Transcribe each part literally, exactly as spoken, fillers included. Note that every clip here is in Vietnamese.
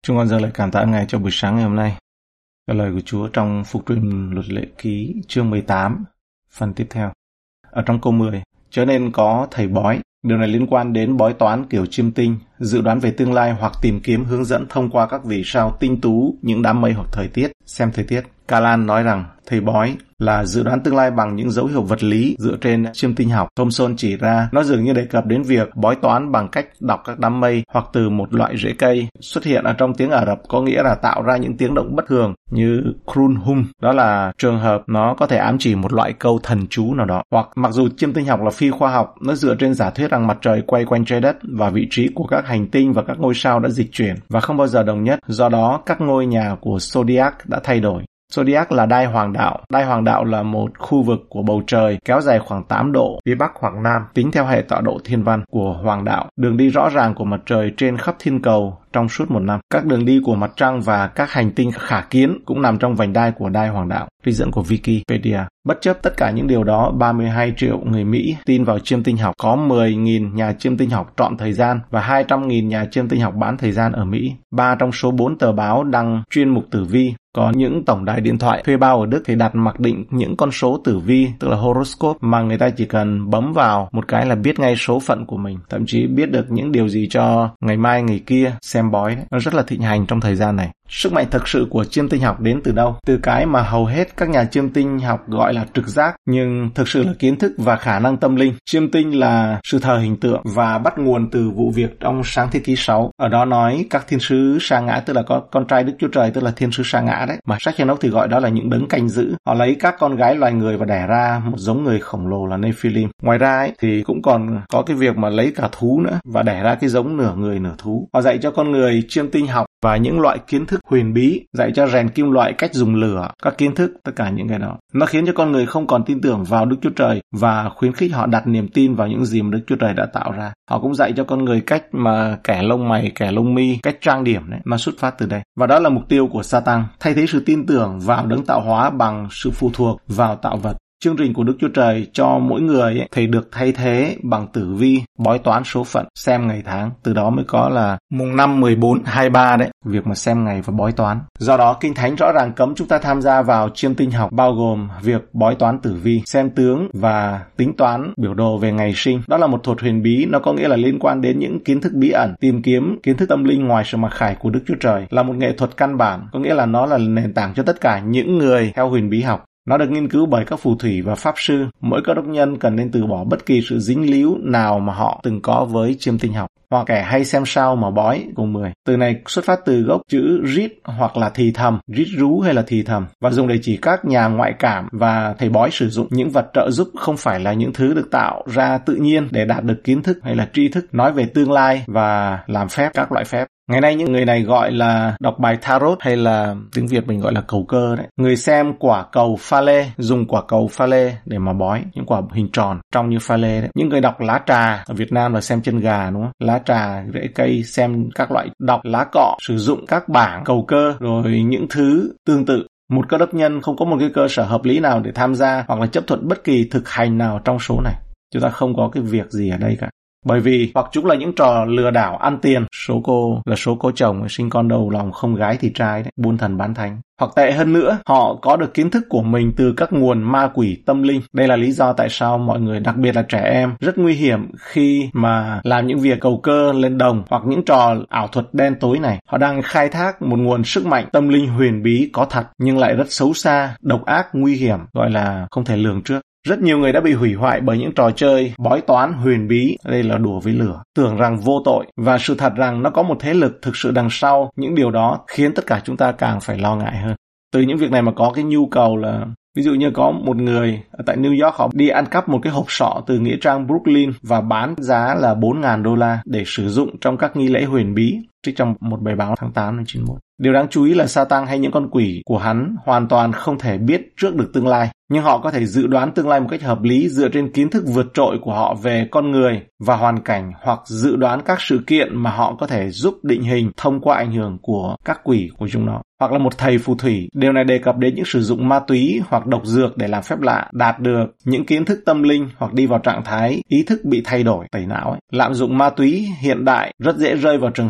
Chúng con dâng lời cảm tạ Ngài cho buổi sáng ngày hôm nay. Cái lời của Chúa trong Phục truyền Luật Lệ Ký chương mười tám, phần tiếp theo. Ở trong câu mười, chớ nên có thầy bói. Điều này liên quan đến bói toán kiểu chiêm tinh, dự đoán về tương lai hoặc tìm kiếm hướng dẫn thông qua các vì sao tinh tú, những đám mây hoặc thời tiết. Xem thời tiết. Calan nói rằng thầy bói là dự đoán tương lai bằng những dấu hiệu vật lý dựa trên chiêm tinh học. Thomson chỉ ra nó dường như đề cập đến việc bói toán bằng cách đọc các đám mây hoặc từ một loại rễ cây xuất hiện ở trong tiếng Ả Rập, có nghĩa là tạo ra những tiếng động bất thường như krunhum. Đó là trường hợp nó có thể ám chỉ một loại câu thần chú nào đó. Hoặc mặc dù chiêm tinh học là phi khoa học, nó dựa trên giả thuyết rằng mặt trời quay quanh trái đất và vị trí của các hành tinh và các ngôi sao đã dịch chuyển và không bao giờ đồng nhất. Do đó, các ngôi nhà của Zodiac đã thay đổi. Zodiac là đai hoàng đạo. Đai hoàng đạo là một khu vực của bầu trời kéo dài khoảng tám độ phía bắc hoặc nam, tính theo hệ tọa độ thiên văn của hoàng đạo. Đường đi rõ ràng của mặt trời trên khắp thiên cầu trong suốt một năm. Các đường đi của mặt trăng và các hành tinh khả kiến cũng nằm trong vành đai của đai hoàng đạo. Trích dẫn của Wikipedia. Bất chấp tất cả những điều đó, ba mươi hai triệu người Mỹ tin vào chiêm tinh học. Có mười nghìn nhà chiêm tinh học trọn thời gian và hai trăm nghìn nhà chiêm tinh học bán thời gian ở Mỹ. Ba trong số bốn tờ báo đăng chuyên mục tử vi. Có những tổng đài điện thoại thuê bao ở Đức thì đặt mặc định những con số tử vi, tức là horoscope, mà người ta chỉ cần bấm vào một cái là biết ngay số phận của mình. Thậm chí biết được những điều gì cho ngày mai ngày kia. Xem bói đấy. Nó rất là thịnh hành trong thời gian này. Sức mạnh thực sự của chiêm tinh học đến từ đâu? Từ cái mà hầu hết các nhà chiêm tinh học gọi là trực giác, nhưng thực sự là kiến thức và khả năng tâm linh. Chiêm tinh là sự thờ hình tượng và bắt nguồn từ vụ việc trong Sáng Thế Ký sáu. Ở đó nói các thiên sứ sa ngã, tức là có con trai Đức Chúa Trời, tức là thiên sứ sa ngã đấy. Mà sách Enoch thì gọi đó là những đấng canh giữ. Họ lấy các con gái loài người và đẻ ra một giống người khổng lồ là Nephilim. Ngoài ra ấy, thì cũng còn có cái việc mà lấy cả thú nữa và đẻ ra cái giống nửa người nửa thú. Họ dạy cho con người chiêm tinh học và những loại kiến thức huyền bí, dạy cho rèn kim loại, cách dùng lửa, các kiến thức, tất cả những cái đó. Nó khiến cho con người không còn tin tưởng vào Đức Chúa Trời và khuyến khích họ đặt niềm tin vào những gì mà Đức Chúa Trời đã tạo ra. Họ cũng dạy cho con người cách mà kẻ lông mày, kẻ lông mi, cách trang điểm đấy, nó xuất phát từ đây. Và đó là mục tiêu của Satan, thay thế sự tin tưởng vào đấng tạo hóa bằng sự phụ thuộc vào tạo vật. Chương trình của Đức Chúa Trời cho mỗi người ấy, thì được thay thế bằng tử vi, bói toán số phận, xem ngày tháng. Từ đó mới có là mùng năm, mười bốn, hai mươi ba đấy, việc mà xem ngày và bói toán. Do đó, Kinh Thánh rõ ràng cấm chúng ta tham gia vào chiêm tinh học, bao gồm việc bói toán tử vi, xem tướng và tính toán biểu đồ về ngày sinh. Đó là một thuật huyền bí, nó có nghĩa là liên quan đến những kiến thức bí ẩn, tìm kiếm kiến thức tâm linh ngoài sự mặc khải của Đức Chúa Trời. Là một nghệ thuật căn bản, có nghĩa là nó là nền tảng cho tất cả những người theo huyền bí học. Nó được nghiên cứu bởi các phù thủy và pháp sư. Mỗi cơ đốc nhân cần nên từ bỏ bất kỳ sự dính líu nào mà họ từng có với chiêm tinh học. Hoặc kẻ hay xem sao mà bói, câu mười. Từ này xuất phát từ gốc chữ rít hoặc là thì thầm, rít rú hay là thì thầm, và dùng để chỉ các nhà ngoại cảm và thầy bói sử dụng những vật trợ giúp không phải là những thứ được tạo ra tự nhiên để đạt được kiến thức hay là tri thức, nói về tương lai và làm phép, các loại phép. Ngày nay những người này gọi là đọc bài tarot hay là tiếng Việt mình gọi là cầu cơ đấy. Người xem quả cầu pha lê, dùng quả cầu pha lê để mà bói, những quả hình tròn trông như pha lê đấy. Những người đọc lá trà, ở Việt Nam là xem chân gà đúng không? Lá trà, rễ cây, xem các loại đọc lá cọ, sử dụng các bảng cầu cơ rồi những thứ tương tự. Một cơ đốc nhân không có một cái cơ sở hợp lý nào để tham gia hoặc là chấp thuận bất kỳ thực hành nào trong số này. Chúng ta không có cái việc gì ở đây cả. Bởi vì hoặc chúng là những trò lừa đảo ăn tiền, số cô là số cô chồng sinh con đầu lòng không gái thì trai đấy, buôn thần bán thánh. Hoặc tệ hơn nữa, họ có được kiến thức của mình từ các nguồn ma quỷ tâm linh. Đây là lý do tại sao mọi người, đặc biệt là trẻ em, rất nguy hiểm khi mà làm những việc cầu cơ lên đồng hoặc những trò ảo thuật đen tối này. Họ đang khai thác một nguồn sức mạnh tâm linh huyền bí có thật nhưng lại rất xấu xa, độc ác, nguy hiểm, gọi là không thể lường trước. Rất nhiều người đã bị hủy hoại bởi những trò chơi bói toán huyền bí, đây là đùa với lửa, tưởng rằng vô tội, và sự thật rằng nó có một thế lực thực sự đằng sau những điều đó khiến tất cả chúng ta càng phải lo ngại hơn. Từ những việc này mà có cái nhu cầu là, ví dụ như có một người ở tại New York, họ đi ăn cắp một cái hộp sọ từ nghĩa trang Brooklyn và bán giá là bốn nghìn đô la để sử dụng trong các nghi lễ huyền bí, trích trong một bài báo tháng tám năm chín mươi mốt. Điều đáng chú ý là Satan hay những con quỷ của hắn hoàn toàn không thể biết trước được tương lai, nhưng họ có thể dự đoán tương lai một cách hợp lý dựa trên kiến thức vượt trội của họ về con người và hoàn cảnh, hoặc dự đoán các sự kiện mà họ có thể giúp định hình thông qua ảnh hưởng của các quỷ của chúng nó. Hoặc là một thầy phù thủy. Điều này đề cập đến những sử dụng ma túy hoặc độc dược để làm phép lạ, đạt được những kiến thức tâm linh hoặc đi vào trạng thái ý thức bị thay đổi, tẩy não ấy. Lạm dụng ma túy hiện đại rất dễ rơi vào trường hợp này.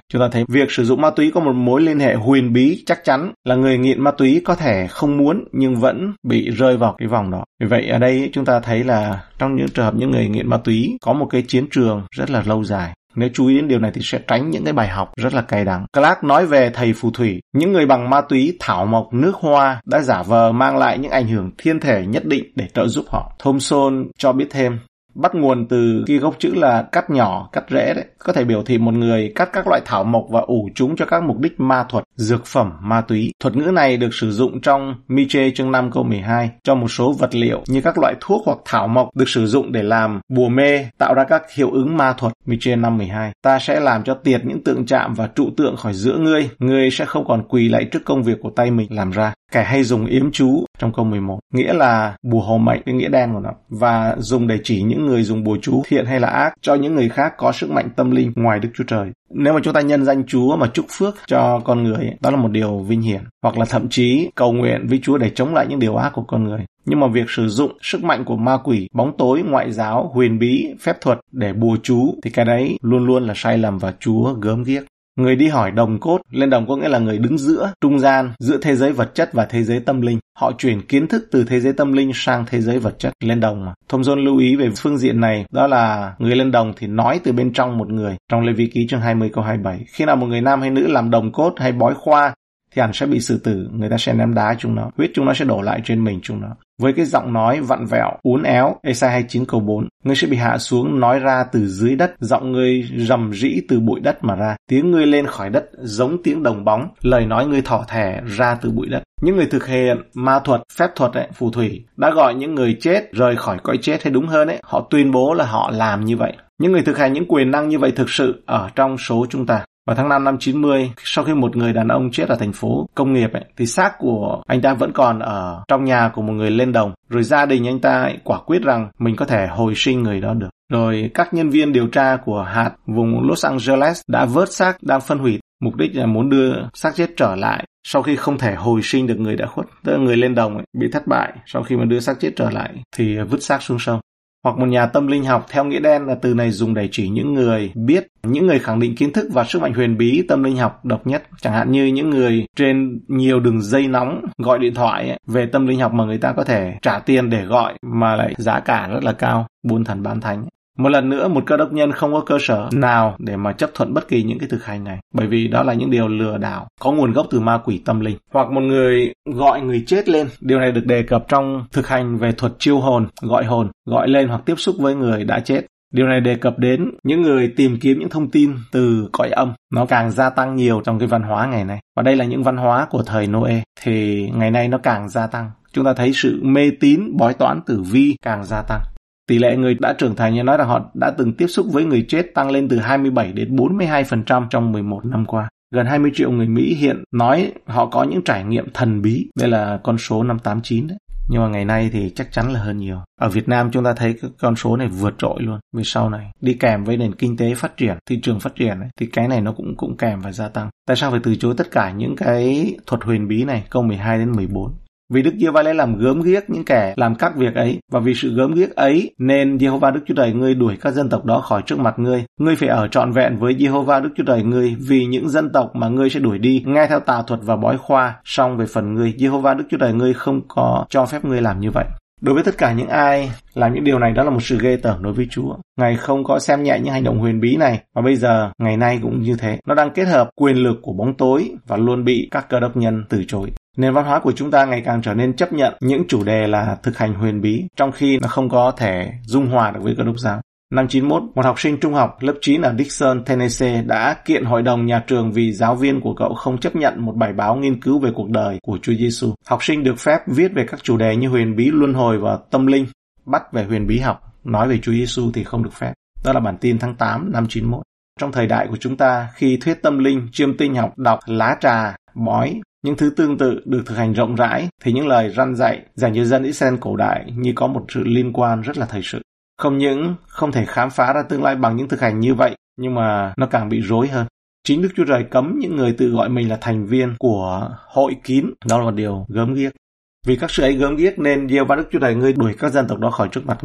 Chúng ta thấy việc sử dụng ma túy có một mối liên hệ huyền bí, chắc chắn là người nghiện ma túy có thể không muốn nhưng vẫn bị rơi vào cái vòng đó. Vì vậy ở đây chúng ta thấy là trong những trường hợp những người nghiện ma túy có một cái chiến trường rất là lâu dài. Nếu chú ý đến điều này thì sẽ tránh những cái bài học rất là cay đắng. Clark nói về thầy phù thủy, những người bằng ma túy, thảo mộc, nước hoa đã giả vờ mang lại những ảnh hưởng thiên thể nhất định để trợ giúp họ. Thompson cho biết thêm, bắt nguồn từ cái gốc chữ là cắt nhỏ, cắt rễ đấy, có thể biểu thị một người cắt các loại thảo mộc và ủ chúng cho các mục đích ma thuật, dược phẩm, ma túy. Thuật ngữ này được sử dụng trong Miche chương năm câu mười hai cho một số vật liệu như các loại thuốc hoặc thảo mộc được sử dụng để làm bùa mê, tạo ra các hiệu ứng ma thuật. Miche năm mười hai. Ta sẽ làm cho tiệt những tượng chạm và trụ tượng khỏi giữa ngươi, ngươi sẽ không còn quỳ lạy trước công việc của tay mình làm ra. Kẻ hay dùng yếm chú trong câu mười một, nghĩa là bùa hộ mệnh, cái nghĩa đen của nó, và dùng để chỉ những người dùng bùa chú thiện hay là ác cho những người khác có sức mạnh tâm linh ngoài Đức Chúa Trời. Nếu mà chúng ta nhân danh Chúa mà chúc phước cho con người, đó là một điều vinh hiển, hoặc là thậm chí cầu nguyện với Chúa để chống lại những điều ác của con người. Nhưng mà việc sử dụng sức mạnh của ma quỷ, bóng tối, ngoại giáo, huyền bí, phép thuật để bùa chú thì cái đấy luôn luôn là sai lầm và Chúa gớm ghiếc. Người đi hỏi đồng cốt, lên đồng có nghĩa là người đứng giữa, trung gian, giữa thế giới vật chất và thế giới tâm linh. Họ chuyển kiến thức từ thế giới tâm linh sang thế giới vật chất, lên đồng mà. Thompson lưu ý về phương diện này, đó là người lên đồng thì nói từ bên trong một người. Trong Lê Vi Ký chương hai mươi câu hai mươi bảy, khi nào một người nam hay nữ làm đồng cốt hay bói khoa thì hẳn sẽ bị xử tử, người ta sẽ ném đá chúng nó, huyết chúng nó sẽ đổ lại trên mình chúng nó. Với cái giọng nói vặn vẹo, uốn éo, Ê-sai hai mươi chín câu bốn, ngươi sẽ bị hạ xuống nói ra từ dưới đất, giọng ngươi rầm rĩ từ bụi đất mà ra, tiếng ngươi lên khỏi đất giống tiếng đồng bóng, lời nói ngươi thỏ thẻ ra từ bụi đất. Những người thực hiện ma thuật, phép thuật ấy, phù thủy đã gọi những người chết rời khỏi cõi chết, hay đúng hơn ấy, họ tuyên bố là họ làm như vậy. Những người thực hành những quyền năng như vậy thực sự ở trong số chúng ta. Vào tháng năm năm chín mươi, sau khi một người đàn ông chết ở thành phố công nghiệp ấy, thì xác của anh ta vẫn còn ở trong nhà của một người lên đồng. Rồi gia đình anh ta ấy quả quyết rằng mình có thể hồi sinh người đó được. Rồi các nhân viên điều tra của hạt vùng Los Angeles đã vớt xác đang phân hủy, mục đích là muốn đưa xác chết trở lại sau khi không thể hồi sinh được người đã khuất. Tức là người lên đồng ấy, bị thất bại, sau khi mà đưa xác chết trở lại thì vứt xác xuống sông. Hoặc một nhà tâm linh học theo nghĩa đen là từ này dùng để chỉ những người biết, những người khẳng định kiến thức và sức mạnh huyền bí tâm linh học độc nhất. Chẳng hạn như những người trên nhiều đường dây nóng gọi điện thoại ấy, về tâm linh học mà người ta có thể trả tiền để gọi mà lại giá cả rất là cao, buôn thần bán thánh. Một lần nữa, một cơ đốc nhân không có cơ sở nào để mà chấp thuận bất kỳ những cái thực hành này, bởi vì đó là những điều lừa đảo, có nguồn gốc từ ma quỷ tâm linh. Hoặc một người gọi người chết lên, điều này được đề cập trong thực hành về thuật chiêu hồn, gọi hồn, gọi lên hoặc tiếp xúc với người đã chết. Điều này đề cập đến những người tìm kiếm những thông tin từ cõi âm, nó càng gia tăng nhiều trong cái văn hóa ngày nay. Và đây là những văn hóa của thời Noe, thì ngày nay nó càng gia tăng. Chúng ta thấy sự mê tín, bói toán tử vi càng gia tăng. Tỷ lệ người đã trưởng thành như nói rằng họ đã từng tiếp xúc với người chết tăng lên từ hai mươi bảy đến bốn mươi hai phần trăm trong mười một năm qua. Gần hai mươi triệu người Mỹ hiện nói họ có những trải nghiệm thần bí. Đây là con số năm tám chín đấy. Nhưng mà ngày nay thì chắc chắn là hơn nhiều. Ở Việt Nam chúng ta thấy cái con số này vượt trội luôn. Vì sau này đi kèm với nền kinh tế phát triển, thị trường phát triển ấy, thì cái này nó cũng cũng kèm và gia tăng. Tại sao phải từ chối tất cả những cái thuật huyền bí này? Câu mười hai đến mười bốn. Vì Đức Giê-hô-va lấy làm gớm ghiếc những kẻ làm các việc ấy, và vì sự gớm ghiếc ấy nên Giê-hô-va Đức Chúa Trời ngươi đuổi các dân tộc đó khỏi trước mặt ngươi. Ngươi phải ở trọn vẹn với Giê-hô-va Đức Chúa Trời ngươi, vì những dân tộc mà ngươi sẽ đuổi đi nghe theo tà thuật và bói khoa. Song về phần ngươi, Giê-hô-va Đức Chúa Trời ngươi không có cho phép ngươi làm như vậy. Đối với tất cả những ai làm những điều này, đó là một sự ghê tởm đối với Chúa. Ngài không có xem nhẹ những hành động huyền bí này, và bây giờ ngày nay cũng như thế. Nó đang kết hợp quyền lực của bóng tối và luôn bị các cơ đốc nhân từ chối. Nền văn hóa của chúng ta ngày càng trở nên chấp nhận những chủ đề là thực hành huyền bí, trong khi nó không có thể dung hòa được với cơ đốc giáo. Năm chín mốt, một học sinh trung học lớp chín ở Dixon, Tennessee đã kiện hội đồng nhà trường vì giáo viên của cậu không chấp nhận một bài báo nghiên cứu về cuộc đời của Chúa Giêsu. Học sinh được phép viết về các chủ đề như huyền bí, luân hồi và tâm linh. Bắt về huyền bí học, nói về Chúa Giêsu thì không được phép. Đó là bản tin tháng tám năm chín mốt. Trong thời đại của chúng ta, khi thuyết tâm linh, chiêm tinh học, đọc, lá trà, bói, những thứ tương tự được thực hành rộng rãi, thì những lời răn dạy dành cho dân Israel cổ đại như có một sự liên quan rất là thời sự. Không những không thể khám phá ra tương lai bằng những thực hành như vậy, nhưng mà nó càng bị rối hơn. Chính Đức Chúa Trời cấm những người tự gọi mình là thành viên của hội kín, đó là một điều gớm ghiếc. Vì các sự ấy gớm ghiếc nên Giê-hô-va Đức Chúa Trời ngươi đuổi các dân tộc đó khỏi trước mặt ngươi.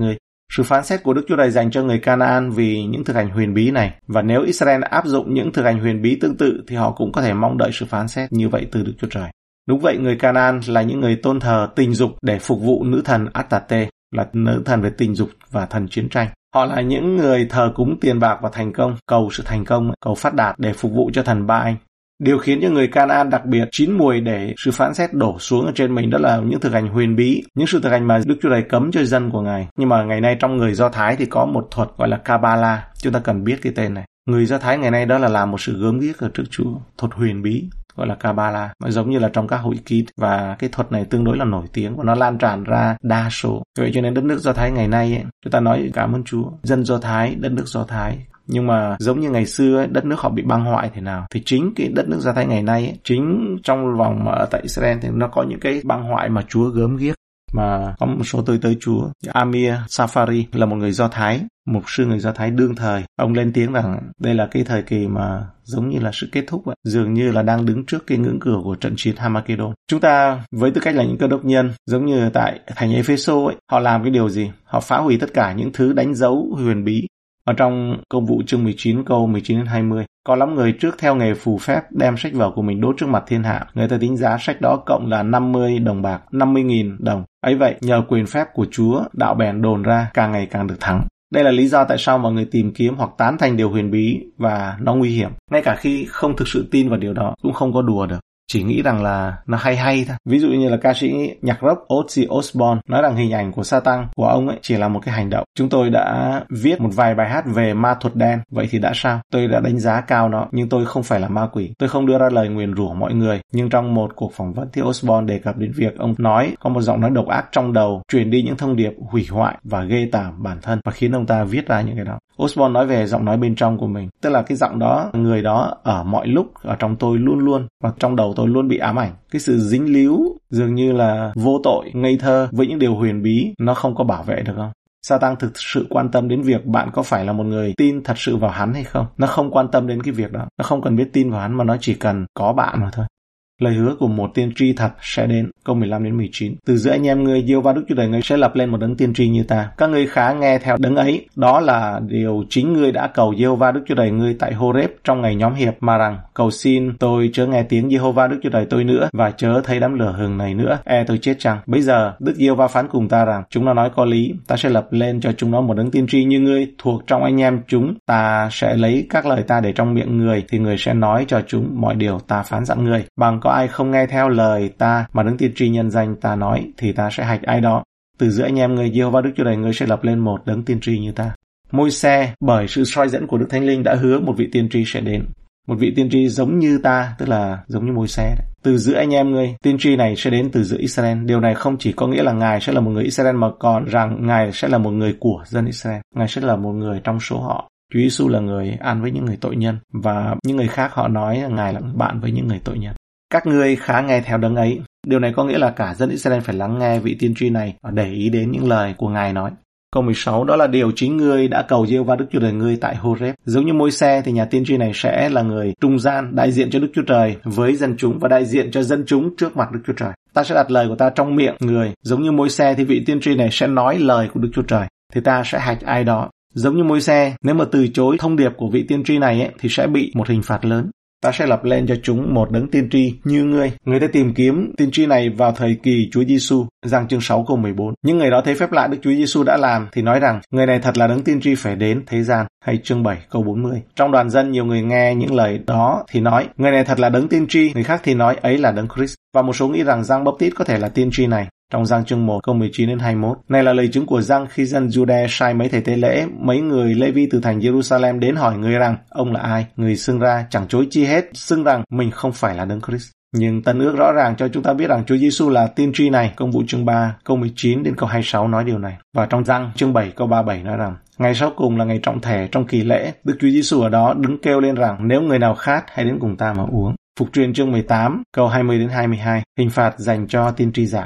Sự phán xét của Đức Chúa Trời dành cho người Canaan vì những thực hành huyền bí này, và nếu Israel áp dụng những thực hành huyền bí tương tự thì họ cũng có thể mong đợi sự phán xét như vậy từ Đức Chúa Trời. Đúng vậy, người Canaan là những người tôn thờ tình dục để phục vụ nữ thần Astarte, là nữ thần về tình dục và thần chiến tranh. Họ là những người thờ cúng tiền bạc và thành công, cầu sự thành công, cầu phát đạt để phục vụ cho thần Ba Anh. Điều khiến cho người Canaan đặc biệt chín mùi để sự phán xét đổ xuống ở trên mình đó là những thực hành huyền bí, những sự thực hành mà Đức Chúa Trời cấm cho dân của Ngài. Nhưng mà ngày nay trong người Do Thái thì có một thuật gọi là Kabbalah, chúng ta cần biết cái tên này. Người Do Thái ngày nay đó là làm một sự gớm ghiếc ở trước Chúa, thuật huyền bí gọi là Kabbalah, giống như là trong các hội ký, và cái thuật này tương đối là nổi tiếng và nó lan tràn ra đa số. Vậy cho nên đất nước Do Thái ngày nay ấy, chúng ta nói cảm ơn Chúa, dân Do Thái, đất nước Do Thái. Nhưng mà giống như ngày xưa ấy, đất nước họ bị băng hoại thế nào thì chính cái đất nước Do Thái ngày nay ấy, chính trong vòng ở tại Israel thì nó có những cái băng hoại mà Chúa gớm ghiếc. Mà có một số tôi tới Chúa, Amir Safari là một người Do Thái, mục sư người Do Thái đương thời. Ông lên tiếng rằng đây là cái thời kỳ mà giống như là sự kết thúc vậy, dường như là đang đứng trước cái ngưỡng cửa của trận chiến Hamagedon. Chúng ta với tư cách là những cơ đốc nhân, giống như tại thành Epheso ấy, họ làm cái điều gì? Họ phá hủy tất cả những thứ đánh dấu huyền bí. Ở trong Công vụ chương mười chín câu mười chín đến hai mươi, có lắm người trước theo nghề phù phép đem sách vở của mình đốt trước mặt thiên hạ. Người ta tính giá sách đó cộng là năm mươi đồng bạc, năm mươi nghìn đồng. Ấy vậy, nhờ quyền phép của Chúa, đạo bèn đồn ra càng ngày càng được thắng. Đây là lý do tại sao mọi người tìm kiếm hoặc tán thành điều huyền bí và nó nguy hiểm. Ngay cả khi không thực sự tin vào điều đó, cũng không có đùa được. Chỉ nghĩ rằng là nó hay hay thôi. Ví dụ như là ca sĩ nhạc rock Ozzy Osbourne nói rằng hình ảnh của Satan của ông ấy chỉ là một cái hành động. Chúng tôi đã viết một vài bài hát về ma thuật đen, vậy thì đã sao? Tôi đã đánh giá cao nó, nhưng tôi không phải là ma quỷ. Tôi không đưa ra lời nguyền rủa mọi người. Nhưng trong một cuộc phỏng vấn thì Osbourne đề cập đến việc ông nói có một giọng nói độc ác trong đầu truyền đi những thông điệp hủy hoại và ghê tởm bản thân và khiến ông ta viết ra những cái đó. Osbourne nói về giọng nói bên trong của mình, tức là cái giọng đó, người đó ở mọi lúc ở trong tôi luôn luôn, và trong đầu tôi luôn bị ám ảnh. Cái sự dính líu dường như là vô tội, ngây thơ với những điều huyền bí, nó không có bảo vệ được không? Satan thực sự quan tâm đến việc bạn có phải là một người tin thật sự vào hắn hay không. Nó không quan tâm đến cái việc đó, nó không cần biết tin vào hắn mà nó chỉ cần có bạn mà thôi. Lời hứa của một tiên tri thật sẽ đến. Câu mười lăm đến mười chín. Từ giữa anh em ngươi, Giê-hô-va Đức Chúa Trời ngươi sẽ lập lên một đấng tiên tri như ta. Các ngươi khá nghe theo đấng ấy. Đó là điều chính ngươi đã cầu Giê-hô-va Đức Chúa Trời ngươi tại Hô-rép trong ngày nhóm hiệp, mà rằng cầu xin tôi chớ nghe tiếng Giê-hô-va Đức Chúa Trời tôi nữa, và chớ thấy đám lửa hừng này nữa, e tôi chết chăng. Bây giờ Đức Giê-hô-va phán cùng ta rằng chúng nó nói có lý, ta sẽ lập lên cho chúng nó một đấng tiên tri như ngươi thuộc trong anh em chúng. Ta sẽ lấy các lời ta để trong miệng người, thì người sẽ nói cho chúng mọi điều ta phán dặn người. Bằng có ai không nghe theo lời ta mà đấng tiên tri nhân danh ta nói, thì ta sẽ hạch ai đó. Từ giữa anh em người, Giê-hô-va Đức Chúa Trời ngươi sẽ lập lên một đấng tiên tri như ta. Môi-se bởi sự soi dẫn của Đức Thánh Linh đã hứa một vị tiên tri sẽ đến. Một vị tiên tri giống như ta, tức là giống như Môi-se. Từ giữa anh em ngươi, tiên tri này sẽ đến từ giữa Israel. Điều này không chỉ có nghĩa là Ngài sẽ là một người Israel, mà còn rằng Ngài sẽ là một người của dân Israel. Ngài sẽ là một người trong số họ. Chúa Giêsu là người ăn với những người tội nhân, và những người khác họ nói là Ngài là bạn với những người tội nhân. Các ngươi khá nghe theo đấng ấy. Điều này có nghĩa là cả dân Israel phải lắng nghe vị tiên tri này và để ý đến những lời của Ngài nói. Câu mười sáu, đó là điều chính ngươi đã cầu Giê-hô-va Đức Chúa Trời ngươi tại Hô-rép. Giống như Môi-se thì nhà tiên tri này sẽ là người trung gian, đại diện cho Đức Chúa Trời với dân chúng và đại diện cho dân chúng trước mặt Đức Chúa Trời. Ta sẽ đặt lời của ta trong miệng người. Giống như Môi-se thì vị tiên tri này sẽ nói lời của Đức Chúa Trời, thì ta sẽ hạch ai đó. Giống như Môi-se, nếu mà từ chối thông điệp của vị tiên tri này ấy, thì sẽ bị một hình phạt lớn. Ta sẽ lập lên cho chúng một đấng tiên tri như ngươi. Người ta tìm kiếm tiên tri này vào thời kỳ Chúa Giêsu, Giăng chương sáu câu mười bốn. Những người đó thấy phép lạ Đức Chúa Giêsu đã làm thì nói rằng người này thật là đấng tiên tri phải đến thế gian. Hay chương bảy câu bốn mươi. Trong đoàn dân nhiều người nghe những lời đó thì nói người này thật là đấng tiên tri, người khác thì nói ấy là đấng Christ. Và một số nghĩ rằng Giăng Báp-tít có thể là tiên tri này. Trong Giăng chương một câu mười chín đến hai mươi mốt. Này là lời chứng của Giăng khi dân Jude sai mấy thầy tế lễ, mấy người Lê-vi từ thành Jerusalem đến hỏi người rằng ông là ai. Người xưng ra chẳng chối chi hết, xưng rằng mình không phải là đấng Christ. Nhưng Tân ước rõ ràng cho chúng ta biết rằng Chúa Giêsu là tiên tri này. Công vụ chương ba câu mười chín đến câu hai mươi sáu nói điều này. Và trong Giăng chương bảy câu ba mươi bảy nói rằng ngày sau cùng là ngày trọng thể trong kỳ lễ, Đức Chúa Giêsu ở đó đứng kêu lên rằng nếu người nào khát hãy đến cùng ta mà uống. Phục truyền chương mười tám câu hai mươi đến hai mươi hai. Hình phạt dành cho tiên tri giả.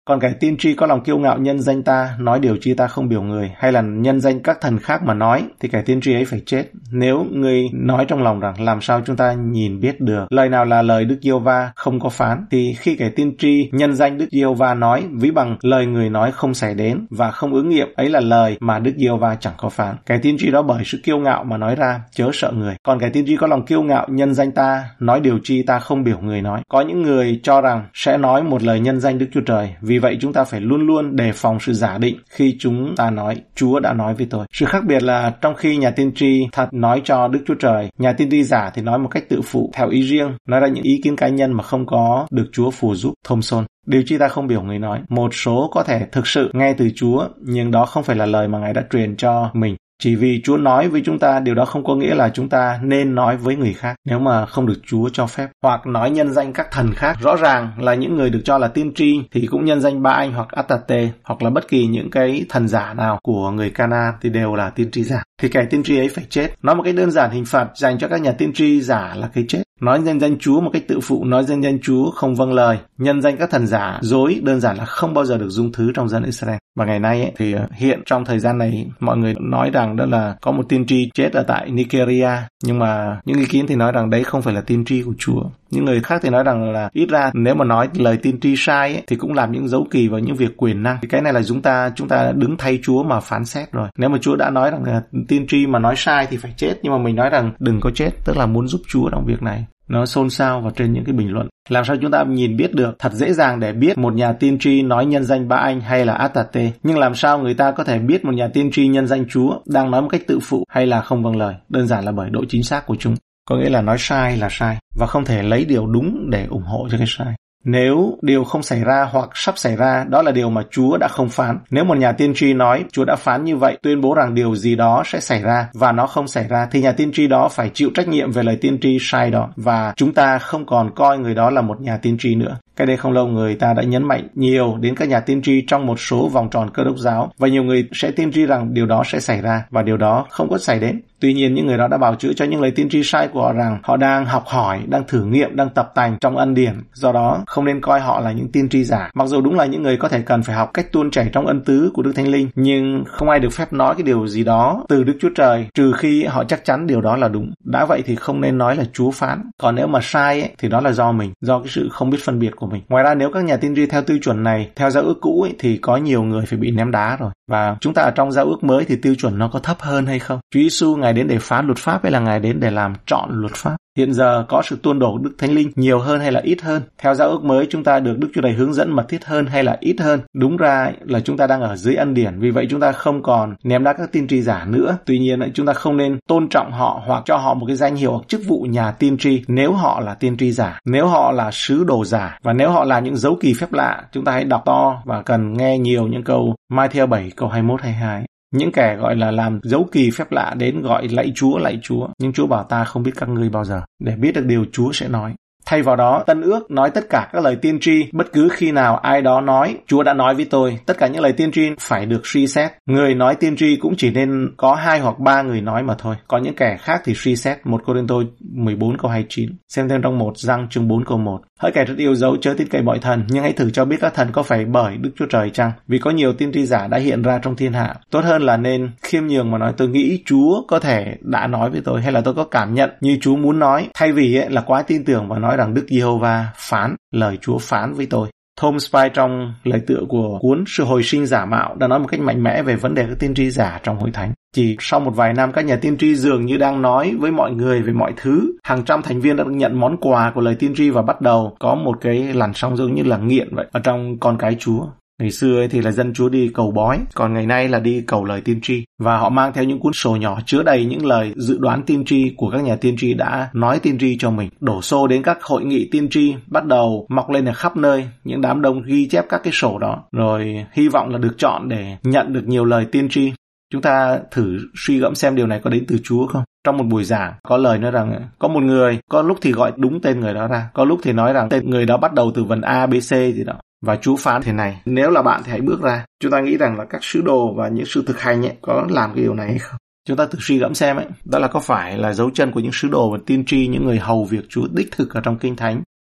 Còn kẻ tiên tri có lòng kiêu ngạo nhân danh ta, nói điều chi ta không biểu người, hay là nhân danh các thần khác mà nói, thì kẻ tiên tri ấy phải chết. Nếu ngươi nói trong lòng rằng làm sao chúng ta nhìn biết được, lời nào là lời Đức Giê-hô-va không có phán, thì khi kẻ tiên tri nhân danh Đức Giê-hô-va nói, ví bằng lời người nói không xảy đến và không ứng nghiệm, ấy là lời mà Đức Giê-hô-va chẳng có phán. Kẻ tiên tri đó bởi sự kiêu ngạo mà nói ra, chớ sợ người. Còn kẻ tiên tri có lòng kiêu ngạo nhân danh ta, nói điều chi ta không biểu người nói. Có những người cho rằng sẽ nói một lời nhân danh Đức Chúa Trời, vì vậy chúng ta phải luôn luôn đề phòng sự giả định khi chúng ta nói Chúa đã nói với tôi. Sự khác biệt là trong khi nhà tiên tri thật nói cho Đức Chúa Trời, nhà tiên tri giả thì nói một cách tự phụ, theo ý riêng, nói ra những ý kiến cá nhân mà không có được Chúa phù giúp. Thomson. Điều chi ta không biểu người nói. Một số có thể thực sự nghe từ Chúa, nhưng đó không phải là lời mà Ngài đã truyền cho mình. Chỉ vì Chúa nói với chúng ta, điều đó không có nghĩa là chúng ta nên nói với người khác nếu mà không được Chúa cho phép. Hoặc nói nhân danh các thần khác. Rõ ràng là những người được cho là tiên tri thì cũng nhân danh Ba-anh hoặc Át-tà-tê hoặc là bất kỳ những cái thần giả nào của người Ca-na thì đều là tiên tri giả. Thì kẻ tiên tri ấy phải chết. Nói một cách đơn giản, hình phạt dành cho các nhà tiên tri giả là cái chết. Nói nhân danh Chúa một cách tự phụ, nói nhân danh Chúa không vâng lời, nhân danh các thần giả dối, đơn giản là không bao giờ được dung thứ trong dân Israel. Và ngày nay ấy, thì hiện trong thời gian này mọi người nói rằng đó là có một tiên tri chết ở tại Nigeria, nhưng mà những ý kiến thì nói rằng đấy không phải là tiên tri của Chúa. Những người khác thì nói rằng là ít ra nếu mà nói lời tiên tri sai ấy, thì cũng làm những dấu kỳ vào những việc quyền năng. Thì cái này là chúng ta chúng ta đứng thay Chúa mà phán xét rồi. Nếu mà Chúa đã nói rằng là tiên tri mà nói sai thì phải chết, nhưng mà mình nói rằng đừng có chết, tức là muốn giúp Chúa trong việc này. Nó xôn xao vào trên những cái bình luận. Làm sao chúng ta nhìn biết được? Thật dễ dàng để biết một nhà tiên tri nói nhân danh Ba-anh hay là Át-tà-tê. Nhưng làm sao người ta có thể biết một nhà tiên tri nhân danh Chúa đang nói một cách tự phụ hay là không vâng lời? Đơn giản là bởi độ chính xác của chúng. Có nghĩa là nói sai là sai và không thể lấy điều đúng để ủng hộ cho cái sai. Nếu điều không xảy ra hoặc sắp xảy ra, đó là điều mà Chúa đã không phán. Nếu một nhà tiên tri nói Chúa đã phán như vậy, tuyên bố rằng điều gì đó sẽ xảy ra và nó không xảy ra, thì nhà tiên tri đó phải chịu trách nhiệm về lời tiên tri sai đó, và chúng ta không còn coi người đó là một nhà tiên tri nữa. Cái đây không lâu người ta đã nhấn mạnh nhiều đến các nhà tiên tri trong một số vòng tròn Cơ Đốc giáo, và nhiều người sẽ tiên tri rằng điều đó sẽ xảy ra và điều đó không có xảy đến. Tuy nhiên những người đó đã bào chữa cho những lời tiên tri sai của họ rằng họ đang học hỏi, đang thử nghiệm, đang tập tành trong ân điển, do đó không nên coi họ là những tiên tri giả. Mặc dù đúng là những người có thể cần phải học cách tuôn chảy trong ân tứ của Đức Thánh Linh, nhưng không ai được phép nói cái điều gì đó từ Đức Chúa Trời trừ khi họ chắc chắn điều đó là đúng. Đã vậy thì không nên nói là Chúa phán. Còn nếu mà sai ấy, thì đó là do mình, do cái sự không biết phân biệt của mình. Ngoài ra, nếu các nhà tiên tri theo tiêu chuẩn này, theo giao ước cũ ấy, thì có nhiều người phải bị ném đá rồi. Và chúng ta ở trong giao ước mới thì tiêu chuẩn nó có thấp hơn hay không? Chúa Giêsu Ngài đến để phá luật pháp hay là Ngài đến để làm trọn luật pháp? Hiện giờ có sự tuôn đổ Đức Thánh Linh nhiều hơn hay là ít hơn? Theo giao ước mới chúng ta được Đức Chúa Trời hướng dẫn mật thiết hơn hay là ít hơn? Đúng ra là chúng ta đang ở dưới ân điển, vì vậy chúng ta không còn ném đá các tiên tri giả nữa. Tuy nhiên chúng ta không nên tôn trọng họ hoặc cho họ một cái danh hiệu hoặc chức vụ nhà tiên tri nếu họ là tiên tri giả, nếu họ là sứ đồ giả, và nếu họ làm những dấu kỳ phép lạ. Chúng ta hãy đọc to và cần nghe nhiều những câu Ma-thi-ơ bảy câu hai mươi mốt hai mươi hai. Những kẻ gọi là làm dấu kỳ phép lạ đến gọi lạy Chúa, lạy Chúa, nhưng Chúa bảo ta không biết các ngươi bao giờ, để biết được điều Chúa sẽ nói. Thay vào đó, Tân Ước nói tất cả các lời tiên tri, bất cứ khi nào ai đó nói, Chúa đã nói với tôi, tất cả những lời tiên tri phải được suy xét. Người nói tiên tri cũng chỉ nên có hai hoặc ba người nói mà thôi. Còn những kẻ khác thì suy xét. một Cô-rinh-tô mười bốn câu hai mươi chín. Xem thêm trong một Giăng chương bốn câu một. Hỡi kẻ rất yêu dấu chớ tin cậy mọi thần, nhưng hãy thử cho biết các thần có phải bởi Đức Chúa Trời chăng? Vì có nhiều tiên tri giả đã hiện ra trong thiên hạ. Tốt hơn là nên khiêm nhường mà nói tôi nghĩ Chúa có thể đã nói với tôi, hay là tôi có cảm nhận như Chúa muốn nói, thay vì ấy là quá tin tưởng và nói rằng Đức Giê-hô-va phán, lời Chúa phán với tôi. Tom Spy trong lời tựa của cuốn Sự hồi sinh giả mạo đã nói một cách mạnh mẽ về vấn đề các tiên tri giả trong hội thánh. Chỉ sau một vài năm, các nhà tiên tri dường như đang nói với mọi người về mọi thứ. Hàng trăm thành viên đã được nhận món quà của lời tiên tri và bắt đầu có một cái làn sóng giống như là nghiện vậy ở trong con cái Chúa. Ngày xưa ấy thì là dân Chúa đi cầu bói, còn ngày nay là đi cầu lời tiên tri. Và họ mang theo những cuốn sổ nhỏ chứa đầy những lời dự đoán tiên tri của các nhà tiên tri đã nói tiên tri cho mình. Đổ xô đến các hội nghị tiên tri, bắt đầu mọc lên ở khắp nơi, những đám đông ghi chép các cái sổ đó, rồi hy vọng là được chọn để nhận được nhiều lời tiên tri. Chúng ta thử suy gẫm xem điều này có đến từ Chúa không? Trong một buổi giảng, có lời nói rằng có một người, có lúc thì gọi đúng tên người đó ra, có lúc thì nói rằng tên người đó bắt đầu từ vần A, B, C gì đó. Và Chúa phán thế này, nếu là bạn thì hãy bước ra. Chúng ta nghĩ rằng là các sứ đồ và những sự thực hành ấy, có làm cái điều này hay không? Chúng ta thử suy gẫm xem ấy, đó là có phải là dấu chân của những sứ đồ và tiên tri, những người hầu việc Chúa đích thực ở trong Kinh Thánh.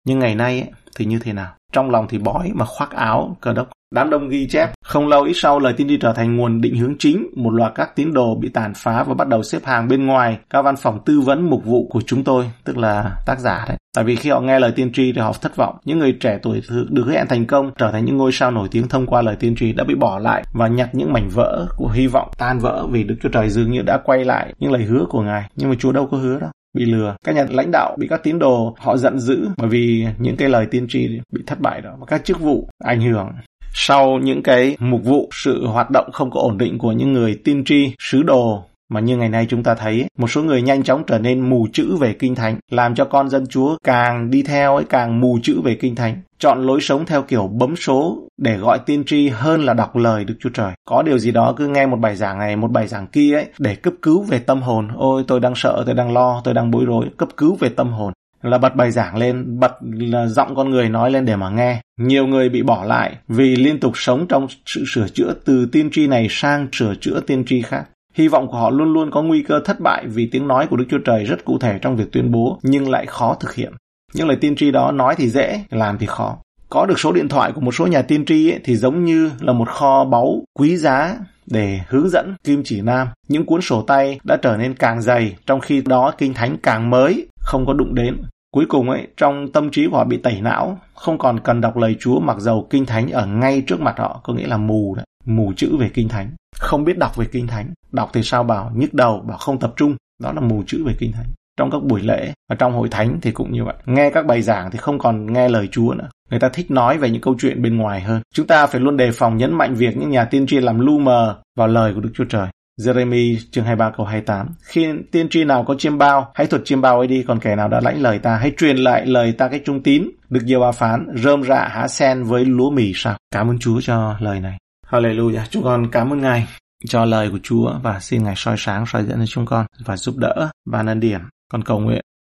Nhưng ngày nay ấy, thì như thế nào? Trong lòng thì bói mà khoác áo Cơ Đốc. Đám đông ghi chép, không lâu ít sau lời tiên tri trở thành nguồn định hướng chính, một loạt các tín đồ bị tàn phá và bắt đầu xếp hàng bên ngoài các văn phòng tư vấn mục vụ của chúng tôi, tức là tác giả đấy. Tại vì khi họ nghe lời tiên tri thì họ thất vọng. Những người trẻ tuổi được hứa hẹn thành công trở thành những ngôi sao nổi tiếng thông qua lời tiên tri đã bị bỏ lại và nhặt những mảnh vỡ của hy vọng tan vỡ vì Đức Chúa Trời dường như đã quay lại những lời hứa của Ngài. Nhưng mà Chúa đâu có hứa đâu. Bị lừa. Các nhà lãnh đạo bị các tín đồ họ giận dữ bởi vì những cái lời tiên tri bị thất bại đó, và các chức vụ ảnh hưởng. Sau những cái mục vụ, sự hoạt động không có ổn định của những người tiên tri, sứ đồ mà như ngày nay chúng ta thấy, một số người nhanh chóng trở nên mù chữ về Kinh Thánh, làm cho con dân Chúa càng đi theo ấy càng mù chữ về Kinh Thánh, chọn lối sống theo kiểu bấm số để gọi tiên tri hơn là đọc lời Đức Chúa Trời. Có điều gì đó cứ nghe một bài giảng này, một bài giảng kia ấy để cấp cứu về tâm hồn. Ôi tôi đang sợ, tôi đang lo, tôi đang bối rối, cấp cứu về tâm hồn. Là bật bài giảng lên, bật là giọng con người nói lên để mà nghe. Nhiều người bị bỏ lại vì liên tục sống trong sự sửa chữa từ tiên tri này sang sửa chữa tiên tri khác. Hy vọng của họ luôn luôn có nguy cơ thất bại vì tiếng nói của Đức Chúa Trời rất cụ thể trong việc tuyên bố nhưng lại khó thực hiện. Những lời tiên tri đó nói thì dễ, làm thì khó. Có được số điện thoại của một số nhà tiên tri ấy, thì giống như là một kho báu quý giá để hướng dẫn kim chỉ nam. Những cuốn sổ tay đã trở nên càng dày, trong khi đó Kinh Thánh càng mới, không có đụng đến. Cuối cùng ấy, trong tâm trí của họ bị tẩy não, không còn cần đọc lời Chúa mặc dầu Kinh Thánh ở ngay trước mặt họ, có nghĩa là mù đấy, mù chữ về Kinh Thánh, không biết đọc về Kinh Thánh. Đọc thì sao bảo nhức đầu, bảo không tập trung, đó là mù chữ về Kinh Thánh. Trong các buổi lễ và trong hội thánh thì cũng như vậy. Nghe các bài giảng thì không còn nghe lời Chúa nữa. Người ta thích nói về những câu chuyện bên ngoài hơn. Chúng ta phải luôn đề phòng nhấn mạnh việc những nhà tiên tri làm lu mờ vào lời của Đức Chúa Trời. Giê-rê-mi chương hai mươi ba câu hai mươi tám. Khi tiên tri nào có chiêm bao, hãy thuật chiêm bao ấy đi, còn kẻ nào đã lãnh lời ta, hãy truyền lại lời ta cái trung tín. Đức Giê-hô-va phán, rơm rạ há sen với lúa mì sao? Cảm ơn Chúa cho lời này. Hallelujah. Chúng con cảm ơn Ngài cho lời của Chúa và xin Ngài soi sáng, soi dẫn cho chúng con và giúp đỡ ban ân điển. Con cầu nguyện